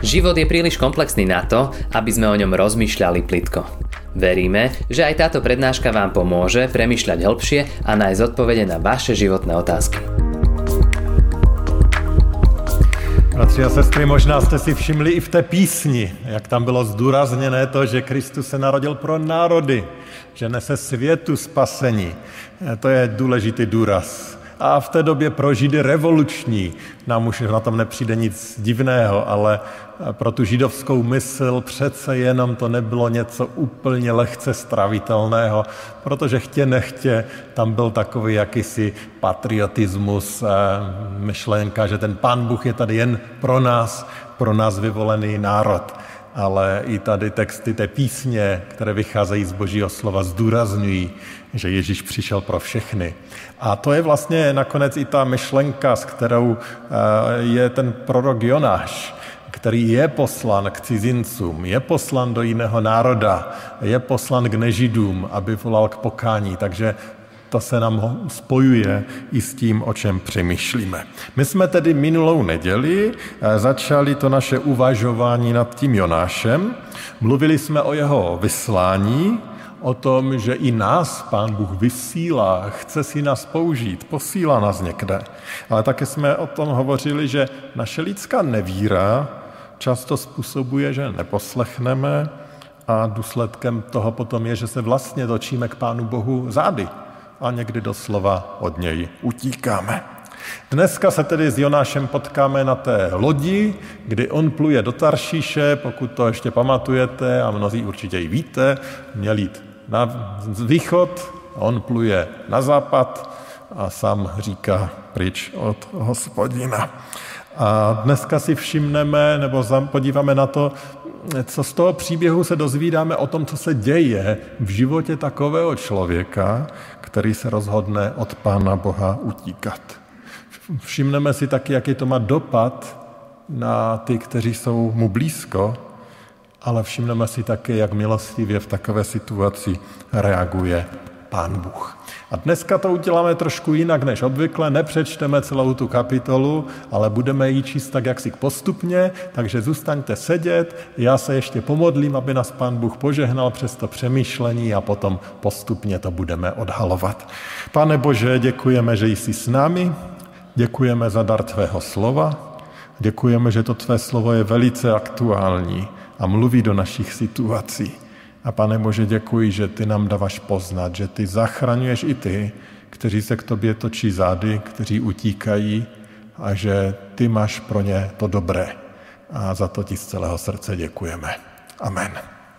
Život je príliš komplexný na to, aby sme o ňom rozmýšľali plitko. Veríme, že aj táto prednáška vám pomôže premýšľať hĺbšie a nájsť odpovede na vaše životné otázky. Bratři a sestry, možná jste si všimli i v té písni, jak tam bylo zdůrazněné to, že Kristus se narodil pro národy, že nese světu spasení. To je důležitý důraz. A v té době pro Židy revoluční. Nám už na tom nepřijde nic divného, ale pro tu židovskou mysl přece jenom to nebylo něco úplně lehce stravitelného, protože chtě nechtě tam byl takový jakýsi patriotismus, myšlenka, že ten Pán Bůh je tady jen pro nás vyvolený národ. Ale i tady texty té písně, které vycházejí z Božího slova, zdůrazňují, že Ježíš přišel pro všechny. A to je vlastně nakonec i ta myšlenka, s kterou je ten prorok Jonáš, který je poslan k cizincům, je poslan do jiného národa, je poslan k nežidům, aby volal k pokání. Takže to se nám spojuje i s tím, o čem přemýšlíme. My jsme tedy minulou neděli začali to naše uvažování nad tím Jonášem. Mluvili jsme o jeho vyslání, o tom, že i nás Pán Bůh vysílá, chce si nás použít, posílá nás někde. Ale také jsme o tom hovořili, že naše lidská nevíra často způsobuje, že neposlechneme a důsledkem toho potom je, že se vlastně točíme k Pánu Bohu zády a někdy doslova od něj utíkáme. Dneska se tedy s Jonášem potkáme na té lodi, kdy on pluje do Taršíše, pokud to ještě pamatujete a mnozí určitě i víte, měl jít na východ, on pluje na západ a sám říká pryč od Hospodina. A dneska si všimneme, nebo podíváme na to, co z toho příběhu se dozvídáme o tom, co se děje v životě takového člověka, který se rozhodne od Pána Boha utíkat. Všimneme si taky, jaký to má dopad na ty, kteří jsou mu blízko, ale všimneme si taky, jak milostivě v takové situaci reaguje Pán Bůh. A dneska to uděláme trošku jinak než obvykle, nepřečteme celou tu kapitolu, ale budeme ji číst tak jaksi postupně, takže zůstaňte sedět, já se ještě pomodlím, aby nás Pán Bůh požehnal přes to přemýšlení a potom postupně to budeme odhalovat. Pane Bože, děkujeme, že jsi s námi, děkujeme za dar tvého slova, děkujeme, že to tvé slovo je velice aktuální a mluví do našich situací. A Pane Bože, děkuji, že ty nám dáváš poznat, že ty zachraňuješ i ty, kteří se k tobě točí zády, kteří utíkají a že ty máš pro ně to dobré. A za to ti z celého srdce děkujeme. Amen.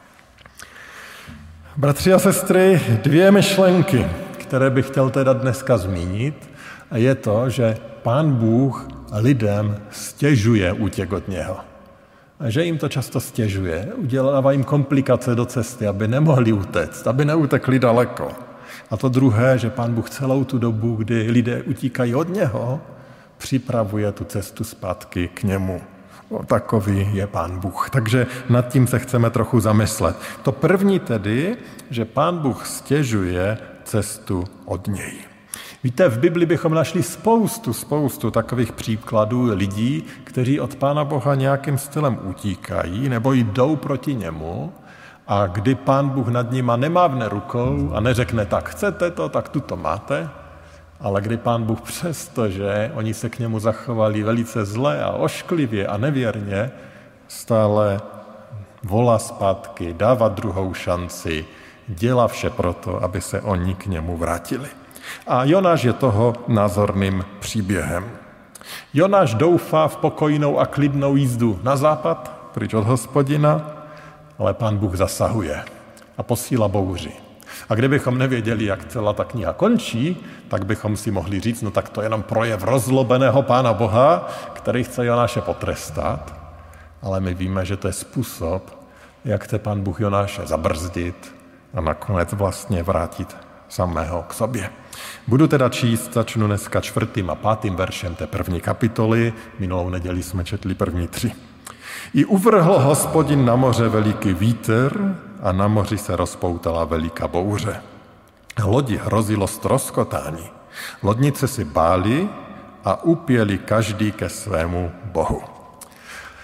Bratři a sestry, dvě myšlenky, které bych chtěl teda dneska zmínit, a je to, že Pán Bůh lidem stěžuje útěk od něho. A že jim to často stěžuje, udělává jim komplikace do cesty, aby nemohli utéct, aby neutekli daleko. A to druhé, že Pán Bůh celou tu dobu, kdy lidé utíkají od něho, připravuje tu cestu zpátky k němu. Takový je Pán Bůh. Takže nad tím se chceme trochu zamyslet. To první tedy, že Pán Bůh stěžuje cestu od něj. Víte, v Bibli bychom našli spoustu takových příkladů lidí, kteří od Pána Boha nějakým stylem utíkají nebo jdou proti němu a kdy Pán Bůh nad nima nemávne rukou a neřekne, tak chcete to, tak tu to máte, ale kdy Pán Bůh přesto, že oni se k němu zachovali velice zle a ošklivě a nevěrně, stále volá zpátky, dává druhou šanci, dělá vše proto, aby se oni k němu vrátili. A Jonáš je toho názorným příběhem. Jonáš doufá v pokojnou a klidnou jízdu na západ, pryč od Hospodina, ale Pán Bůh zasahuje a posílá bouři. A kdybychom nevěděli, jak celá ta kniha končí, tak bychom si mohli říct, no tak to je jenom projev rozlobeného Pána Boha, který chce Jonáše potrestat, ale my víme, že to je způsob, jak chce Pán Bůh Jonáše zabrzdit a nakonec vlastně vrátit samého k sobě. Budu teda číst, začnu dneska 4. a 5. veršem té první kapitoly, minulou neděli jsme četli první 3. I uvrhl Hospodin na moře veliký vítr a na moři se rozpoutala veliká bouře. Lodi hrozilo ztroskotání. Lodnice si báli a upěli každý ke svému bohu.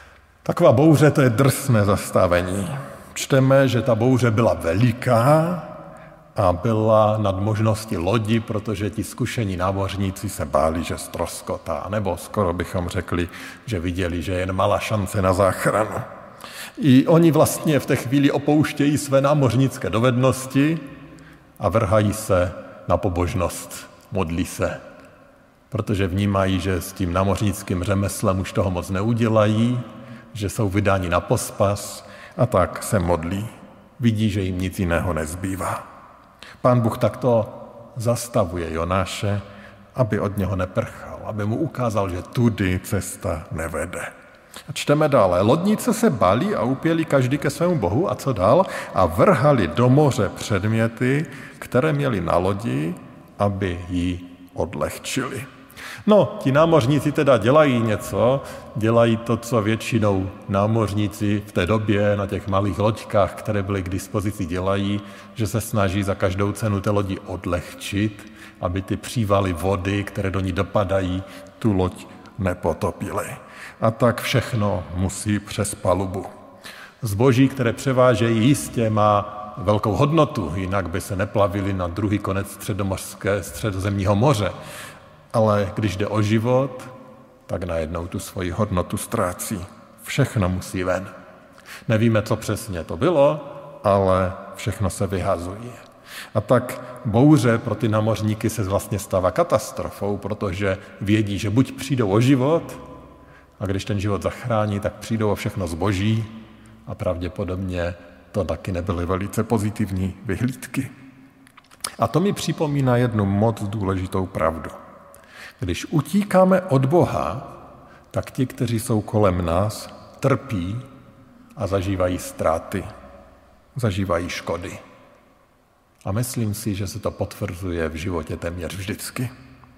Taková bouře, to je drsné zastavení. Čteme, že ta bouře byla veliká a byla nad možnosti lodi, protože ti zkušení námořníci se báli, že ztroskotá, nebo skoro bychom řekli, že viděli, že je jen malá šance na záchranu. I oni vlastně v té chvíli opouštějí své námořnické dovednosti a vrhají se na pobožnost, modlí se, protože vnímají, že s tím námořnickým řemeslem už toho moc neudělají, že jsou vydáni na pospas a tak se modlí. Vidí, že jim nic jiného nezbývá. Pán Bůh takto zastavuje Jonáše, aby od něho neprchal, aby mu ukázal, že tudy cesta nevede. A čteme dále. Lodníci se báli a upěli každý ke svému bohu a co dál? A vrhali do moře předměty, které měli na lodi, aby ji odlehčili. No, ti námořníci teda dělají něco, dělají to, co většinou námořníci v té době na těch malých loďkách, které byly k dispozici, dělají, že se snaží za každou cenu té lodi odlehčit, aby ty přívaly vody, které do ní dopadají, tu loď nepotopily. A tak všechno musí přes palubu. Zboží, které převážejí, jistě má velkou hodnotu, jinak by se neplavili na druhý konec středozemního moře. Ale když jde o život, tak najednou tu svoji hodnotu ztrácí. Všechno musí ven. Nevíme, co přesně to bylo, ale všechno se vyhazuje. A tak bouře pro ty námořníky se vlastně stává katastrofou, protože vědí, že buď přijdou o život, a když ten život zachrání, tak přijdou o všechno zboží a pravděpodobně to taky nebyly velice pozitivní vyhlídky. A to mi připomíná jednu moc důležitou pravdu. Když utíkáme od Boha, tak ti, kteří jsou kolem nás, trpí a zažívají ztráty, zažívají škody. A myslím si, že se to potvrzuje v životě téměř vždycky.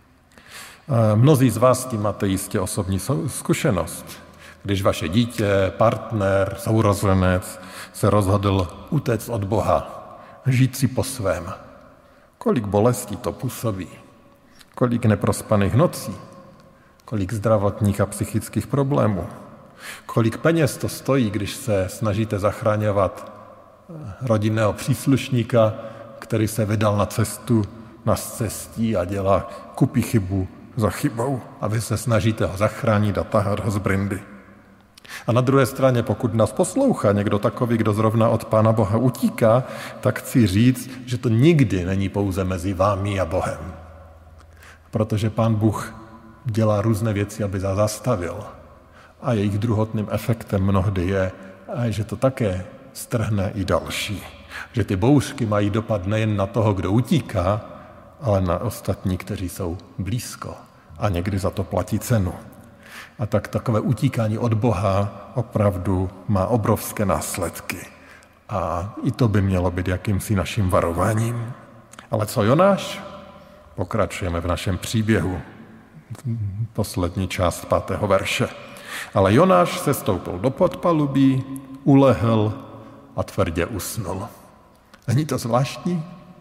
Mnozí z vás tím máte jistě osobní zkušenost. Když vaše dítě, partner, sourozenec se rozhodl utéct od Boha, žít si po svém. Kolik bolestí to působí, kolik neprospaných nocí, kolik zdravotních a psychických problémů, kolik peněz to stojí, když se snažíte zachraňovat rodinného příslušníka, který se vydal na cestu na cestí a dělá kupí chybu za chybou a vy se snažíte ho zachránit a tahat ho z brindy. A na druhé straně, pokud nás poslouchá někdo takový, kdo zrovna od Pána Boha utíká, tak chci říct, že to nikdy není pouze mezi vámi a Bohem. Protože Pán Bůh dělá různé věci, aby nás zastavil. A jejich druhotným efektem mnohdy je, že to také strhne i další. Že ty bouřky mají dopad nejen na toho, kdo utíká, ale na ostatní, kteří jsou blízko a někdy za to platí cenu. A tak takové utíkání od Boha opravdu má obrovské následky. A i to by mělo být jakýmsi naším varováním. Ale co Jonáš? Pokračujeme v našem příběhu. Poslední část 5. verše. Ale Jonáš se stoupil do podpalubí, ulehl a tvrdě usnul. Není to zvláštní?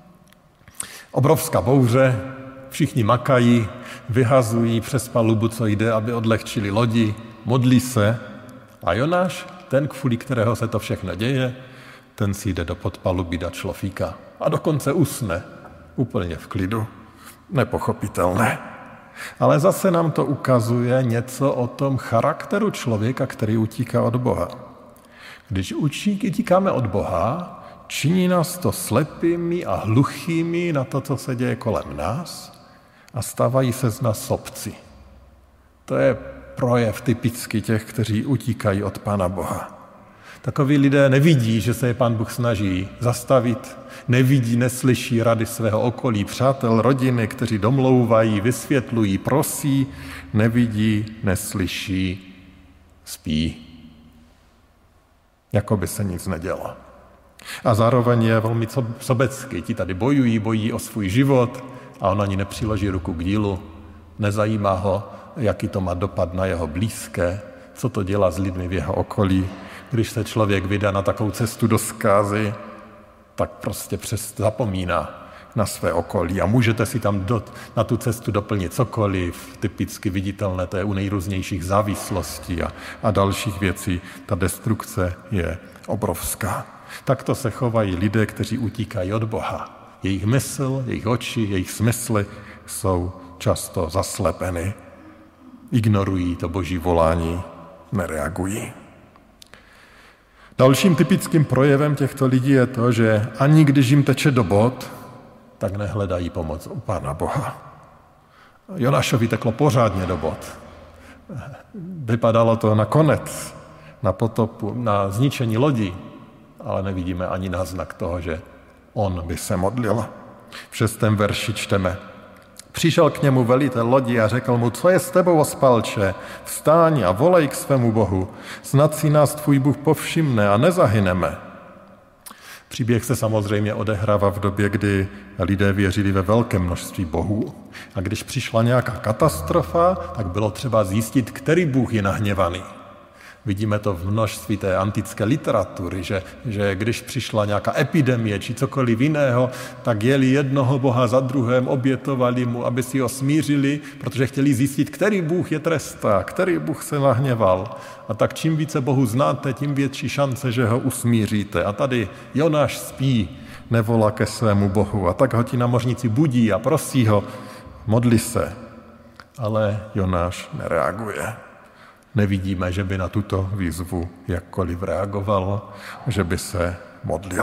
Obrovská bouře, všichni makají, vyhazují přes palubu, co jde, aby odlehčili lodi, modlí se a Jonáš, ten, kvůli kterého se to všechno děje, ten si jde do podpalubí dát šlofíka a dokonce usne, úplně v klidu. Nepochopitelné. Ale zase nám to ukazuje něco o tom charakteru člověka, který utíká od Boha. Když utíkáme od Boha, činí nás to slepými a hluchými na to, co se děje kolem nás a stávají se z nás sobci. To je projev typický těch, kteří utíkají od Pána Boha. Takoví lidé nevidí, že se je Pán Bůh snaží zastavit, nevidí, neslyší rady svého okolí, přátel, rodiny, kteří domlouvají, vysvětlují, prosí, nevidí, neslyší, spí. Jako by se nic nedělo. A zároveň je velmi sobecký. Ti tady bojují o svůj život a on ani nepřiloží ruku k dílu. Nezajímá ho, jaký to má dopad na jeho blízké, co to dělá s lidmi v jeho okolí. Když se člověk vydá na takovou cestu do zkázy, tak prostě zapomíná na své okolí. A můžete si tam na tu cestu doplnit cokoliv, typicky viditelné, to je u nejrůznějších závislostí a dalších věcí. Ta destrukce je obrovská. Takto se chovají lidé, kteří utíkají od Boha. Jejich mysl, jejich oči, jejich smysly jsou často zaslepeny. Ignorují to Boží volání, nereagují. Dalším typickým projevem těchto lidí je to, že ani když jim teče do bod, tak nehledají pomoc u Pána Boha. Jonášovi teklo pořádně do bod. Vypadalo to na konec, na potopu, na zničení lodi, ale nevidíme ani náznak toho, že on by se modlil. V 6. verši čteme: Přišel k němu velitel lodi a řekl mu: Co je s tebou, ospalče? Vstáň a volej k svému Bohu. Snad si nás tvůj Bůh povšimne a nezahyneme. Příběh se samozřejmě odehrává v době, kdy lidé věřili ve velké množství bohů. A když přišla nějaká katastrofa, tak bylo třeba zjistit, který Bůh je nahněvaný. Vidíme to v množství té antické literatury, že když přišla nějaká epidemie či cokoliv jiného, tak jeli jednoho boha za druhém, obětovali mu, aby si ho smířili, protože chtěli zjistit, který Bůh je trestá, který Bůh se nahněval. A tak čím více Bohu znáte, tím větší šance, že ho usmíříte. A tady Jonáš spí, nevolá ke svému Bohu. A tak ho ti námořníci budí a prosí ho, modli se. Ale Jonáš nereaguje. Nevidíme, že by na tuto výzvu jakkoliv reagoval, že by se modlil.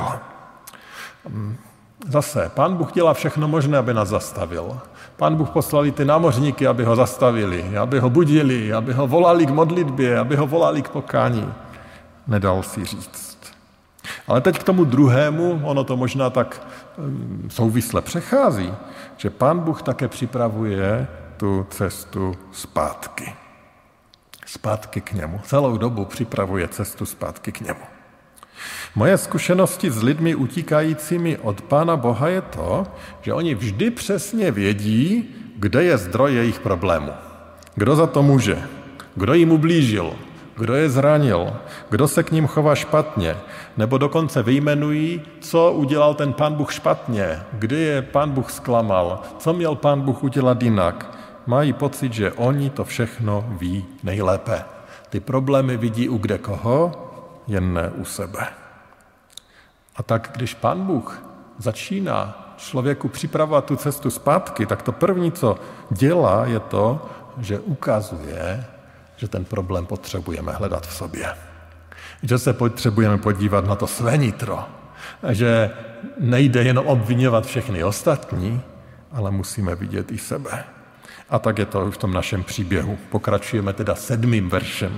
Zase, Pán Bůh dělá všechno možné, aby nás zastavil. Pán Bůh poslal ty námořníky, aby ho zastavili, aby ho budili, aby ho volali k modlitbě, aby ho volali k pokání. Nedal si říct. Ale teď k tomu druhému, ono to možná tak souvisle přechází, že Pán Bůh také připravuje tu cestu zpátky. Zpátky k němu. Celou dobu připravuje cestu zpátky k němu. Moje zkušenosti s lidmi utíkajícími od Pána Boha je to, že oni vždy přesně vědí, kde je zdroj jejich problému. Kdo za to může? Kdo jim ublížil? Kdo je zranil? Kdo se k ním chová špatně? Nebo dokonce vyjmenují, co udělal ten Pán Bůh špatně, kdy je Pán Bůh zklamal, co měl Pán Bůh udělat jinak. Mají pocit, že oni to všechno ví nejlépe. Ty problémy vidí u kde koho, jen ne u sebe. A tak když Pán Bůh začíná člověku připravovat tu cestu zpátky, tak to první, co dělá, je to, že ukazuje, že ten problém potřebujeme hledat v sobě. Že se potřebujeme podívat na to své nitro. Že nejde jenom obvinovat všechny ostatní, ale musíme vidět i sebe. A tak je to v tom našem příběhu. Pokračujeme teda 7. veršem.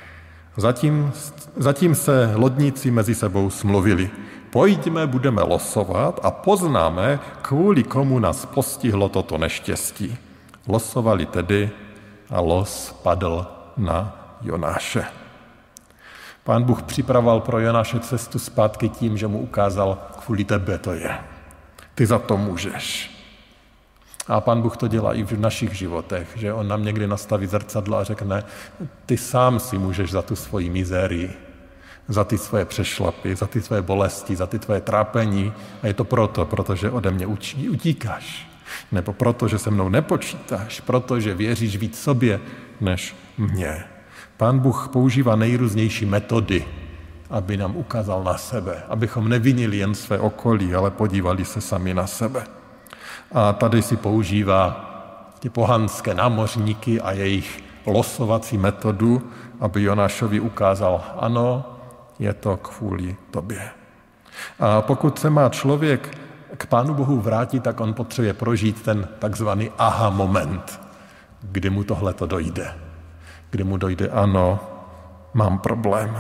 Zatím se lodníci mezi sebou smluvili. Pojďme, budeme losovat a poznáme, kvůli komu nás postihlo toto neštěstí. Losovali tedy a los padl na Jonáše. Pán Bůh připravoval pro Jonáše cestu zpátky tím, že mu ukázal, kvůli tebe to je. Ty za to můžeš. A Pán Bůh to dělá i v našich životech, že on nám někdy nastaví zrcadlo a řekne, ty sám si můžeš za tu svoji mizérii, za ty svoje přešlapy, za ty svoje bolesti, za ty tvoje trápení. A je to protože ode mě utíkáš. Nebo proto, že se mnou nepočítáš, protože věříš víc sobě než mně. Pán Bůh používá nejrůznější metody, aby nám ukázal na sebe, abychom nevinili jen své okolí, ale podívali se sami na sebe. A tady si používá ty pohanské námořníky a jejich losovací metodu, aby Jonášovi ukázal, ano, je to kvůli tobě. A pokud se má člověk k Pánu Bohu vrátit, tak on potřebuje prožít ten takzvaný aha moment, kdy mu tohleto dojde. Kdy mu dojde, ano, mám problém.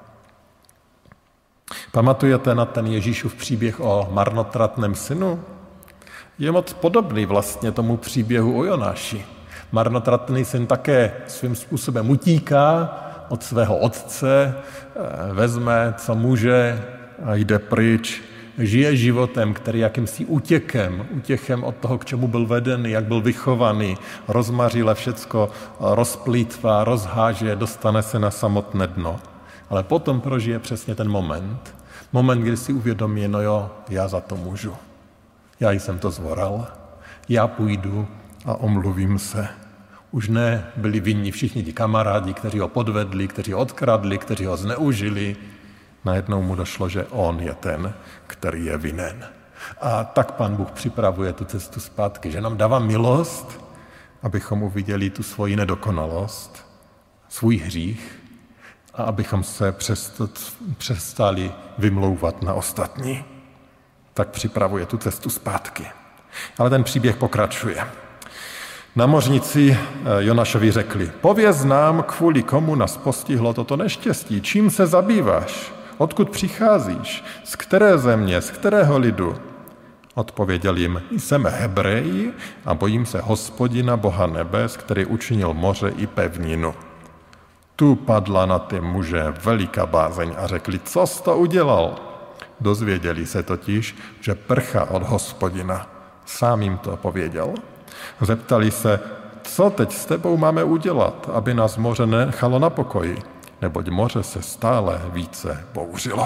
Pamatujete na ten Ježíšův příběh o marnotratném synu? Je moc podobný vlastně tomu příběhu o Jonáši. Marnotratný syn také svým způsobem utíká od svého otce, vezme, co může a jde pryč. Žije životem, který jakýmsi útěchem od toho, k čemu byl vedený, jak byl vychovaný, rozmařile všecko rozplýtvá, rozháže, dostane se na samotné dno. Ale potom prožije přesně ten moment, kdy si uvědomí, no jo, já za to můžu. já jsem to zvoral, já půjdu a omluvím se. Už nebyli vinni všichni ti kamarádi, kteří ho podvedli, kteří ho odkradli, kteří ho zneužili. Najednou mu došlo, že on je ten, který je vinen. A tak Pán Bůh připravuje tu cestu zpátky, že nám dává milost, abychom uviděli tu svoji nedokonalost, svůj hřích a abychom se přestali vymlouvat na ostatní. Tak připravuje tu cestu zpátky. Ale ten příběh pokračuje. Námořníci Jonášovi řekli, pověz nám, kvůli komu nás postihlo toto neštěstí, čím se zabýváš, odkud přicházíš, z které země, z kterého lidu. Odpověděl jim, jsem Hebrej a bojím se Hospodina, Boha nebes, který učinil moře i pevninu. Tu padla na ty muže veliká bázeň a řekli, co jsi to udělal? Dozvěděli se totiž, že prchá od Hospodina. Sám jim to pověděl. Zeptali se, co teď s tebou máme udělat, aby nás moře nechalo na pokoji, neboť moře se stále více bouřilo.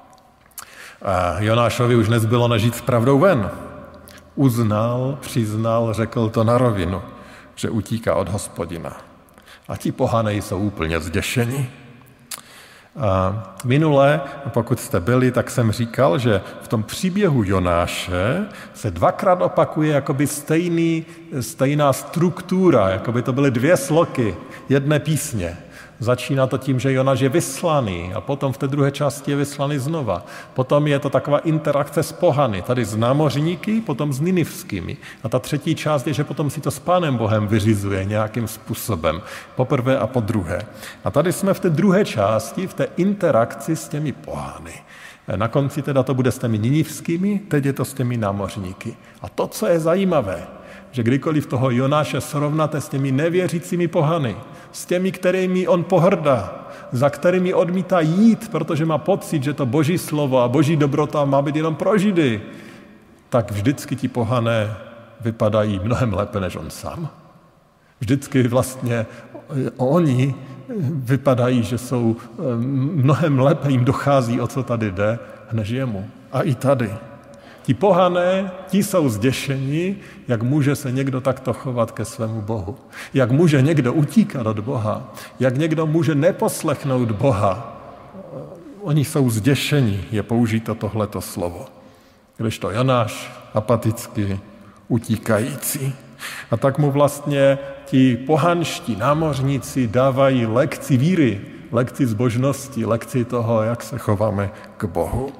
A Jonášovi už nezbylo nežít s pravdou ven. Uznal, přiznal, řekl to na rovinu, že utíká od Hospodina. A ti pohanej jsou úplně zděšeni. A minule, pokud jste byli, tak jsem říkal, že v tom příběhu Jonáše se dvakrát opakuje jakoby stejná struktura, jakoby to byly dvě sloky jedné písně. Začíná to tím, že Jonáš je vyslaný a potom v té druhé části je vyslaný znova. Potom je to taková interakce s pohany, tady s námořníky, potom s ninivskými. A ta třetí část je, že potom si to s Pánem Bohem vyřizuje nějakým způsobem, poprvé a po druhé. A tady jsme v té druhé části, v té interakci s těmi pohany. Na konci teda to bude s těmi ninivskými, teď je to s těmi námořníky. A to, co je zajímavé, že kdykoliv toho Jonáše srovnáte s těmi nevěřícími pohany, s těmi, kterými on pohrdá, za kterými odmítá jít, protože má pocit, že to Boží slovo a Boží dobrota má být jenom pro Židy, tak vždycky ti pohané vypadají mnohem lépe než on sám. Vždycky vlastně oni vypadají, že jsou mnohem lépe, jim dochází, o co tady jde, než jemu. A i tady. Ti pohané, ti jsou zděšeni, jak může se někdo takto chovat ke svému Bohu. Jak může někdo utíkat od Boha. Jak někdo může neposlechnout Boha. Oni jsou zděšeni, je použito tohleto slovo. Kdežto Jonáš apaticky utíkající. A tak mu vlastně ti pohanští námořníci dávají lekci víry, lekci zbožnosti, lekci toho, jak se chováme k Bohu.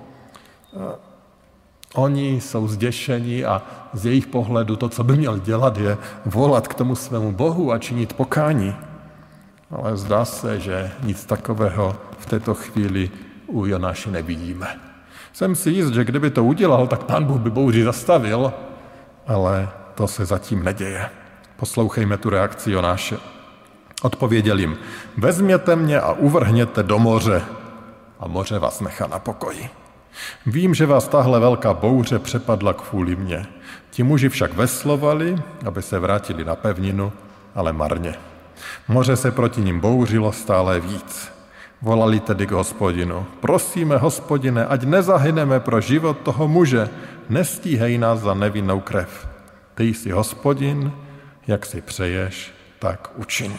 Oni jsou zděšeni a z jejich pohledu to, co by měl dělat, je volat k tomu svému Bohu a činit pokání. Ale zdá se, že nic takového v této chvíli u Jonáše nevidíme. Jsem si jist, že kdyby to udělal, tak Pán Bůh by bouři zastavil, ale to se zatím neděje. Poslouchejme tu reakci Jonáše. Odpověděl jim, vezměte mě a uvrhněte do moře a moře vás nechá na pokoji. Vím, že vás tahle velká bouře přepadla kvůli mně. Ti muži však veslovali, aby se vrátili na pevninu, ale marně. Moře se proti nim bouřilo stále víc. Volali tedy k Hospodinu. Prosíme, Hospodine, ať nezahyneme pro život toho muže. Nestíhej nás za nevinnou krev. Ty jsi Hospodin, jak si přeješ, tak učiň.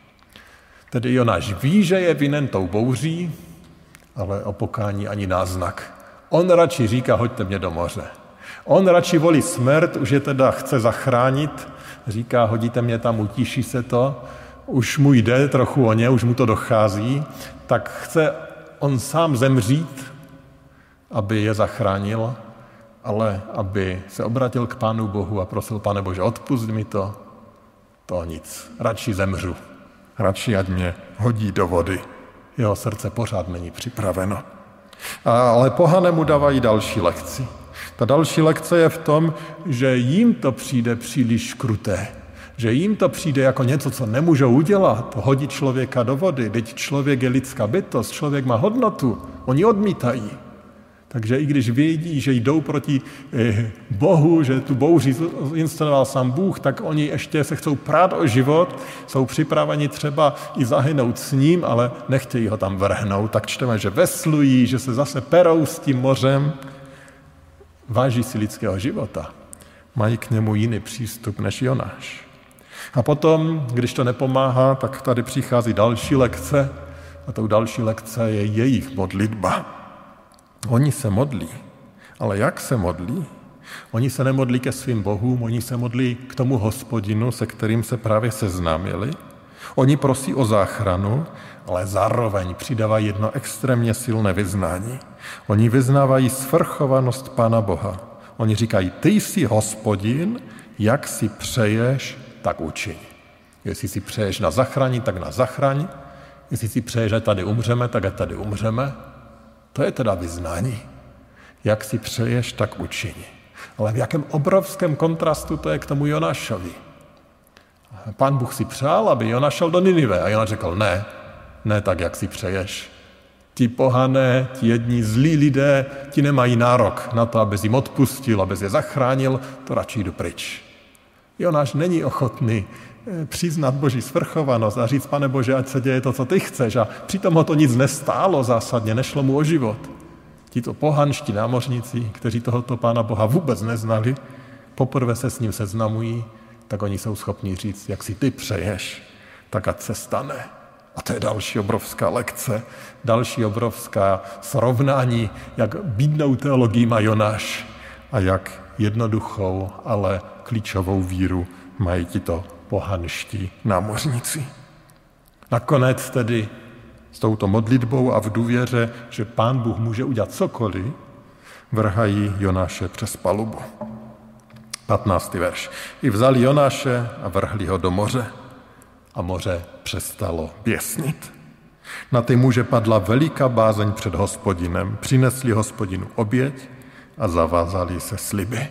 Tedy Jonáš ví, že je vinen tou bouří, ale o pokání ani náznak. On radši říká, hoďte mě do moře. On radši volí smrt, už je teda chce zachránit, říká, hodíte mě tam, utíší se to, už mu jde trochu o ně, už mu to dochází, tak chce on sám zemřít, aby je zachránil, ale aby se obratil k Pánu Bohu a prosil, Pane Bože, odpusť mi to nic, radši zemřu, radši ať mě hodí do vody. Jeho srdce pořád není připraveno. Ale pohané mu dávají další lekci. Ta další lekce je v tom, že jim to přijde příliš kruté. Že jim to přijde jako něco, co nemůžou udělat. Hodit člověka do vody. Teď člověk je lidská bytost, člověk má hodnotu. Oni odmítají. Takže i když vědí, že jdou proti Bohu, že tu bouři instaloval sám Bůh, tak oni ještě se chcou prát o život, jsou připraveni třeba i zahynout s ním, ale nechtějí ho tam vrhnout. Tak čteme, že veslují, že se zase perou s tím mořem. Váží si lidského života. Mají k němu jiný přístup než Jonáš. A potom, když to nepomáhá, tak tady přichází další lekce a tou další lekce je jejich modlitba. Oni se modlí, ale jak se modlí? Oni se nemodlí ke svým bohům, oni se modlí k tomu Hospodinu, se kterým se právě seznámili. Oni prosí o záchranu, ale zároveň přidávají jedno extrémně silné vyznání. Oni vyznávají svrchovanost Pána Boha. Oni říkají, ty jsi Hospodin, jak si přeješ, tak učiň. Jestli si přeješ na zachraň, tak na zachraň. Jestli si přeješ, že tady umřeme, tak ať tady umřeme. To je teda vyznání. Jak si přeješ, tak učiň. Ale v jakém obrovském kontrastu to je k tomu Jonášovi. Pán Bůh si přál, aby Jonáš šel do Ninive. A Jonáš řekl, ne tak, jak si přeješ. Ti pohané, ti jedni zlí lidé, ti nemají nárok na to, abys jim odpustil, abys je zachránil, to radši jdu pryč. Jonáš není ochotný přiznat Boží svrchovanost a říct, Pane Bože, ať se děje to, co ty chceš. A přitom ho to nic nestálo zásadně, nešlo mu o život. Tito pohanští námořníci, kteří tohoto Pána Boha vůbec neznali, poprvé se s ním seznamují, tak oni jsou schopni říct, jak si ty přeješ, tak ať se stane. A to je další obrovská lekce, další obrovská srovnání, jak bídnou teologii má Jonáš a jak jednoduchou, ale klíčovou víru mají tito pohanští námořníci. Nakonec tedy s touto modlitbou a v důvěře, že Pán Bůh může udělat cokoliv, vrhají Jonáše přes palubu. 15. verš. I vzali Jonáše a vrhli ho do moře a moře přestalo běsnit. Na ty muže padla veliká bázeň před Hospodinem, přinesli Hospodinu oběť a zavázali se sliby.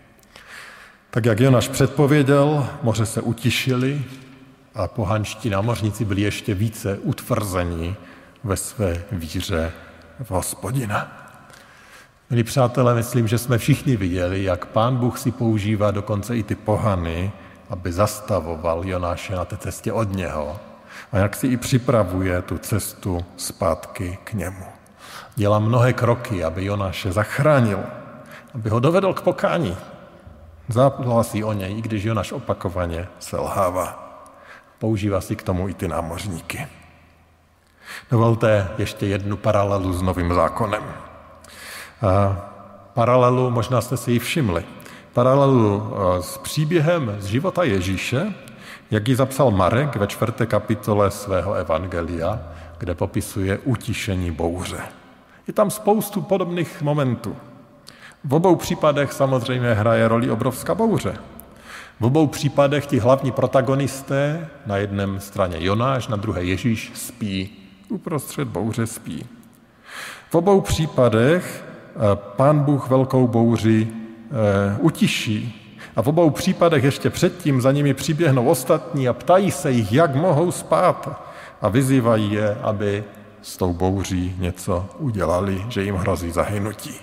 Tak jak Jonáš předpověděl, moře se utišili a pohanští námořníci byli ještě více utvrzení ve své víře v Hospodina. Milí přátelé, myslím, že jsme všichni viděli, jak Pán Bůh si používá dokonce i ty pohany, aby zastavoval Jonáše na té cestě od něho a jak si i připravuje tu cestu zpátky k němu. Dělá mnohé kroky, aby Jonáše zachránil, aby ho dovedl k pokání. Záplasí o něj, i když Jonáš opakovaně selhává. Používá si k tomu i ty námořníky. Dovolte ještě jednu paralelu s Novým zákonem. Paralelu, možná jste si ji všimli, paralelu s příběhem z života Ježíše, jak ji zapsal Marek ve 4. kapitole svého evangelia, kde popisuje utišení bouře. Je tam spoustu podobných momentů. V obou případech samozřejmě hraje roli obrovská bouře. V obou případech ti hlavní protagonisté, na jedné straně Jonáš, na druhé Ježíš, spí. Uprostřed bouře spí. V obou případech Pán Bůh velkou bouři utiší. A v obou případech ještě předtím za nimi přiběhnou ostatní a ptají se jich, jak mohou spát. A vyzývají je, aby s tou bouří něco udělali, že jim hrozí zahynutí.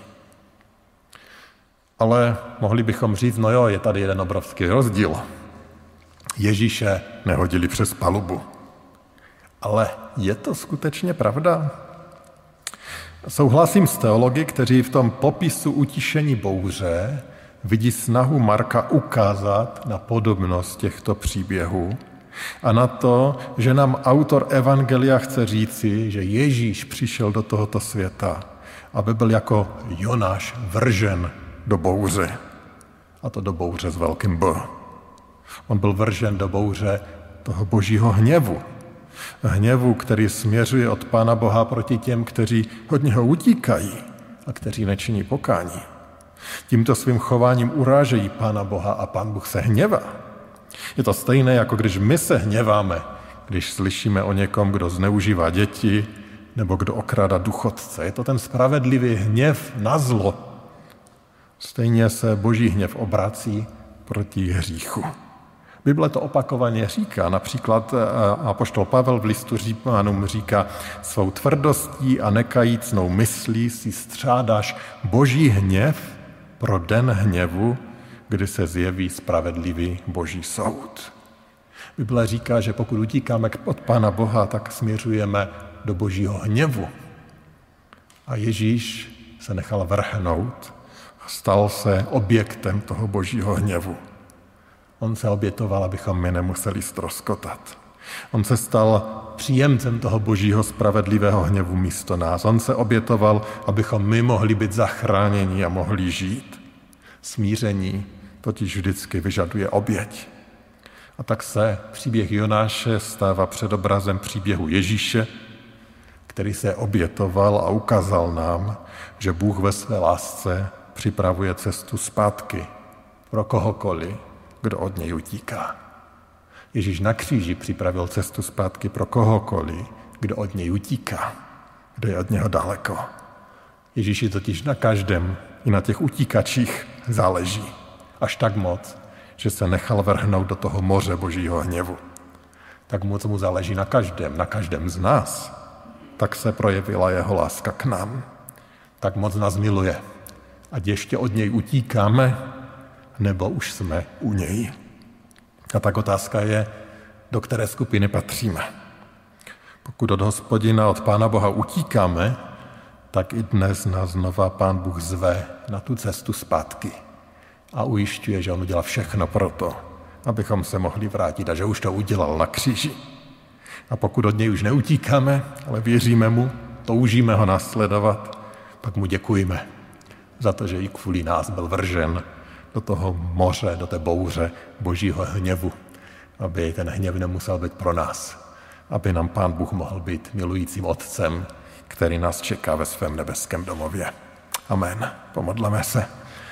Ale mohli bychom říct, no jo, je tady jeden obrovský rozdíl. Ježíše nehodili přes palubu. Ale je to skutečně pravda? Souhlasím s teology, kteří v tom popisu utišení bouře vidí snahu Marka ukázat na podobnost těchto příběhů a na to, že nám autor evangelia chce říci, že Ježíš přišel do tohoto světa, aby byl jako Jonáš vržen do bouře. A to do bouře s velkým B. On byl vržen do bouře toho božího hněvu. Hněvu, který směřuje od Pána Boha proti těm, kteří od něho utíkají a kteří nečiní pokání. Tímto svým chováním urážejí Pána Boha a Pán Bůh se hněvá. Je to stejné, jako když my se hněváme, když slyšíme o někom, kdo zneužívá děti nebo kdo okrádá důchodce. Je to ten spravedlivý hněv na zlo. Stejně se boží hněv obrací proti hříchu. Bible to opakovaně říká, například apoštol Pavel v listu Římanům říká, svou tvrdostí a nekajícnou myslí si střádáš boží hněv pro den hněvu, kdy se zjeví spravedlivý boží soud. Bible říká, že pokud utíkáme od Pána Boha, tak směřujeme do božího hněvu. A Ježíš se nechal vrhnout Stal se objektem toho božího hněvu. On se obětoval, abychom my nemuseli ztroskotat. On se stal příjemcem toho božího spravedlivého hněvu místo nás. On se obětoval, abychom my mohli být zachráněni a mohli žít. Smíření totiž vždycky vyžaduje oběť. A tak se příběh Jonáše stává předobrazem příběhu Ježíše, který se obětoval a ukázal nám, že Bůh ve své lásce připravuje cestu zpátky pro kohokoliv, kdo od něj utíká. Ježíš na kříži připravil cestu zpátky pro kohokoliv, kdo od něj utíká, kdo je od něho daleko. Ježíši totiž na každém, i na těch utíkačích záleží. Až tak moc, že se nechal vrhnout do toho moře božího hněvu. Tak moc mu záleží na každém z nás. Tak se projevila jeho láska k nám. Tak moc nás miluje. Ať ještě od něj utíkáme, nebo už jsme u něj. A tak otázka je, do které skupiny patříme. Pokud od Hospodina, od Pána Boha utíkáme, tak i dnes nás znova Pán Bůh zve na tu cestu zpátky. A ujišťuje, že on udělal všechno pro to, abychom se mohli vrátit a že už to udělal na kříži. A pokud od něj už neutíkáme, ale věříme mu, toužíme ho následovat, pak mu děkujeme za to, že i kvůli nás byl vržen do toho moře, do té bouře božího hněvu, aby ten hněv nemusel být pro nás, aby nám Pán Bůh mohl být milujícím Otcem, který nás čeká ve svém nebeském domově. Amen. Pomodleme se.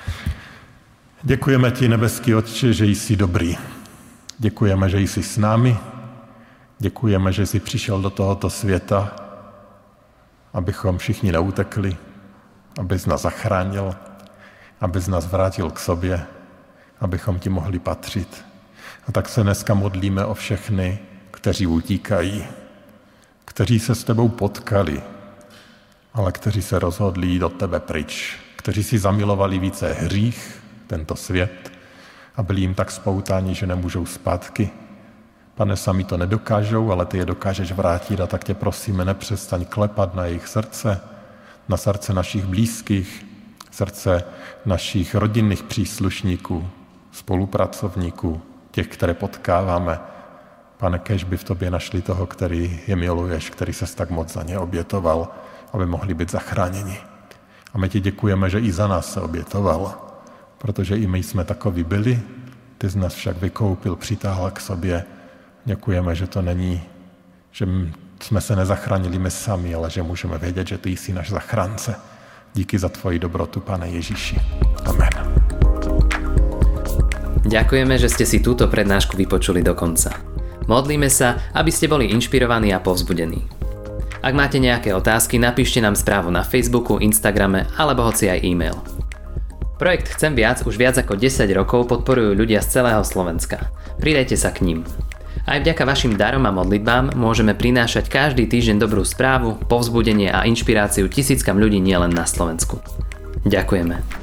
Děkujeme ti, nebeský Otče, že jsi dobrý. Děkujeme, že jsi s námi. Děkujeme, že jsi přišel do tohoto světa, abychom všichni neutekli, abys nás zachránil, abys nás vrátil k sobě, abychom ti mohli patřit. A tak se dneska modlíme o všechny, kteří utíkají, kteří se s tebou potkali, ale kteří se rozhodli jít od tebe pryč, kteří si zamilovali více hřích, tento svět, a byli jim tak spoutáni, že nemůžou zpátky. Pane, sami to nedokážou, ale ty je dokážeš vrátit, a tak tě prosíme, nepřestaň klepat na jejich srdce, na srdce našich blízkých, srdce našich rodinných příslušníků, spolupracovníků, těch, které potkáváme. Pane, kéž by v tobě našli toho, který je miluješ, který ses tak moc za ně obětoval, aby mohli být zachráněni. A my ti děkujeme, že i za nás se obětoval, protože i my jsme takoví byli, ty z nás však vykoupil, přitáhl k sobě. Děkujeme, že to není, že jsme se nezachránili my sami, ale že můžeme vědět, že ty jsi náš zachránce. Díky za tvoji dobrotu, Pane Ježíši. Amen. Ďakujeme, že ste si túto prednášku vypočuli do konca. Modlíme sa, aby ste boli inšpirovaní a povzbudení. Ak máte nejaké otázky, napíšte nám správu na Facebooku, Instagrame alebo hoci aj e-mail. Projekt Chcem viac už viac ako 10 rokov podporujú ľudia z celého Slovenska. Pridajte sa k ním. Aj vďaka vašim darom a modlitbám môžeme prinášať každý týždeň dobrú správu, povzbudenie a inšpiráciu tisíckam ľudí nielen na Slovensku. Ďakujeme.